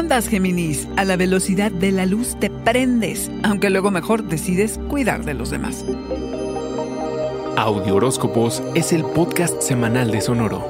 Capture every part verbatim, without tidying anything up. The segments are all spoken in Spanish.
andas, Géminis? A la velocidad de la luz te prendes, aunque luego mejor decides cuidar de los demás. Audio Horóscopos es el podcast semanal de Sonoro.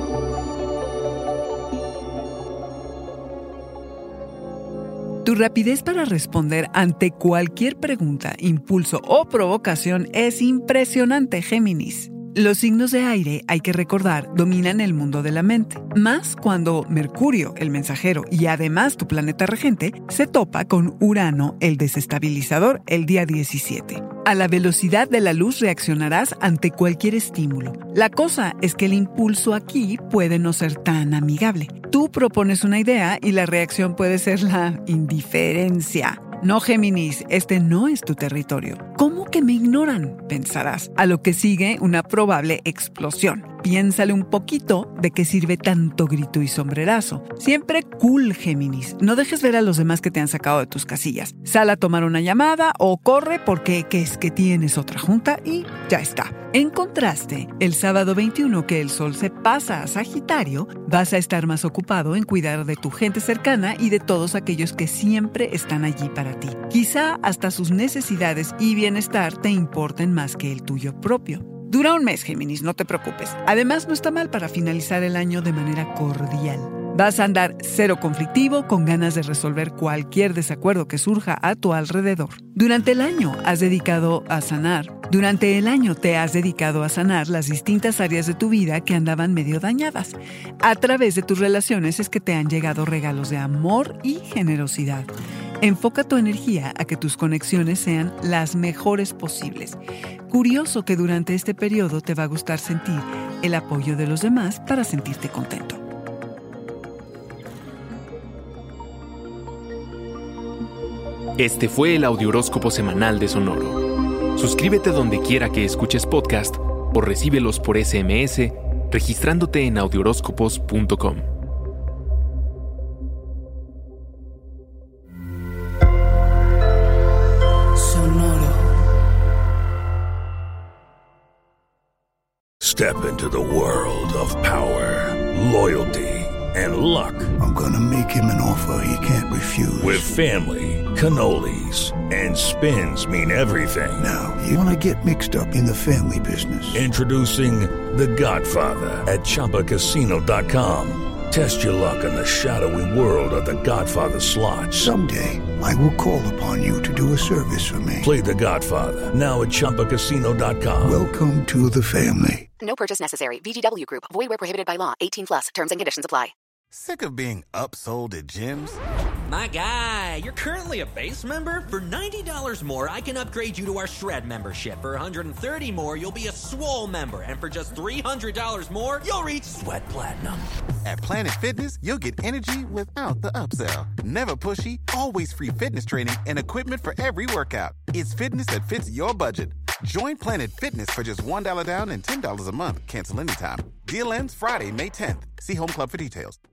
Tu rapidez para responder ante cualquier pregunta, impulso o provocación es impresionante, Géminis. Los signos de aire, hay que recordar, dominan el mundo de la mente, más cuando Mercurio, el mensajero, y además tu planeta regente, se topa con Urano, el desestabilizador, el día diecisiete. A la velocidad de la luz reaccionarás ante cualquier estímulo. La cosa es que el impulso aquí puede no ser tan amigable. Tú propones una idea y la reacción puede ser la indiferencia. No, Géminis, este no es tu territorio. ¿Cómo que me ignoran?, pensarás. A lo que sigue una probable explosión. Piénsale un poquito de qué sirve tanto grito y sombrerazo. Siempre cool, Géminis. No dejes ver a los demás que te han sacado de tus casillas. Sal a tomar una llamada o corre porque ¿qué es que tienes otra junta? Y ya está. En contraste, el sábado veintiuno que el sol se pasa a Sagitario, vas a estar más ocupado en cuidar de tu gente cercana y de todos aquellos que siempre están allí para ti. Quizá hasta sus necesidades y bienestar te importen más que el tuyo propio. Dura un mes, Géminis, no te preocupes. Además, no está mal para finalizar el año de manera cordial. Vas a andar cero conflictivo, con ganas de resolver cualquier desacuerdo que surja a tu alrededor. Durante el año has dedicado a sanar. Durante el año te has dedicado a sanar las distintas áreas de tu vida que andaban medio dañadas. A través de tus relaciones es que te han llegado regalos de amor y generosidad. Enfoca tu energía a que tus conexiones sean las mejores posibles. Curioso que durante este periodo te va a gustar sentir el apoyo de los demás para sentirte contento. Este fue el Audiohoróscopo semanal de Sonoro. Suscríbete donde quiera que escuches podcast o recíbelos por ese eme ese registrándote en audiohoróscopos punto com. Step into the world of power, loyalty, and luck. I'm gonna make him an offer he can't refuse. With family, cannolis, and spins mean everything. Now, you wanna get mixed up in the family business. Introducing The Godfather at Chumba Casino dot com. Test your luck in the shadowy world of The Godfather slot. Someday, I will call upon you to do a service for me. Play The Godfather, now at Chumba Casino dot com. Welcome to the family. No purchase necessary. V G W Group. Void where prohibited by law. eighteen plus. Terms and conditions apply. Sick of being upsold at gyms? My guy, you're currently a base member? For ninety dollars more, I can upgrade you to our Shred membership. For one hundred thirty dollars more, you'll be a Swole member. And for just three hundred dollars more, you'll reach Sweat Platinum. At Planet Fitness, you'll get energy without the upsell. Never pushy, always free fitness training and equipment for every workout. It's fitness that fits your budget. Join Planet Fitness for just one dollar down and ten dollars a month. Cancel anytime. Deal ends Friday, May tenth. See Home Club for details.